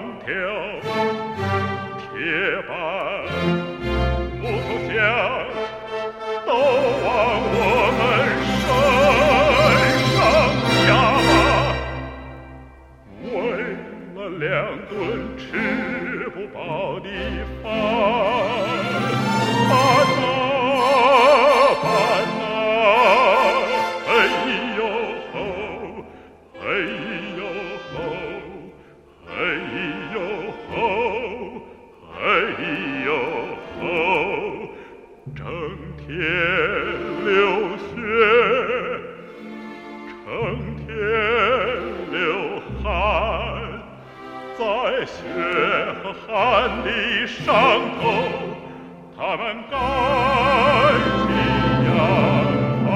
条铁板木头箱都往我们身上压，为了2顿吃不饱的饭，饭啊，哎呦吼，哎呦吼，哎呦吼，哎呦吼，整天流血，成天流汗，在血和汗的上头，他们盖起阳光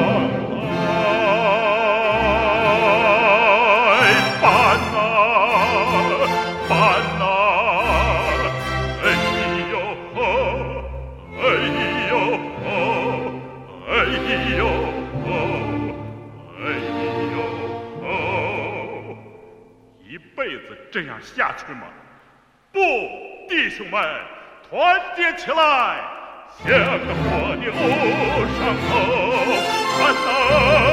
来，搬啊搬啊，哎呦吼，哎呦吼，哎呦吼，哎呦吼，一辈子这样下去吗？不，弟兄们，团结起来，向着我的路上走，看呐！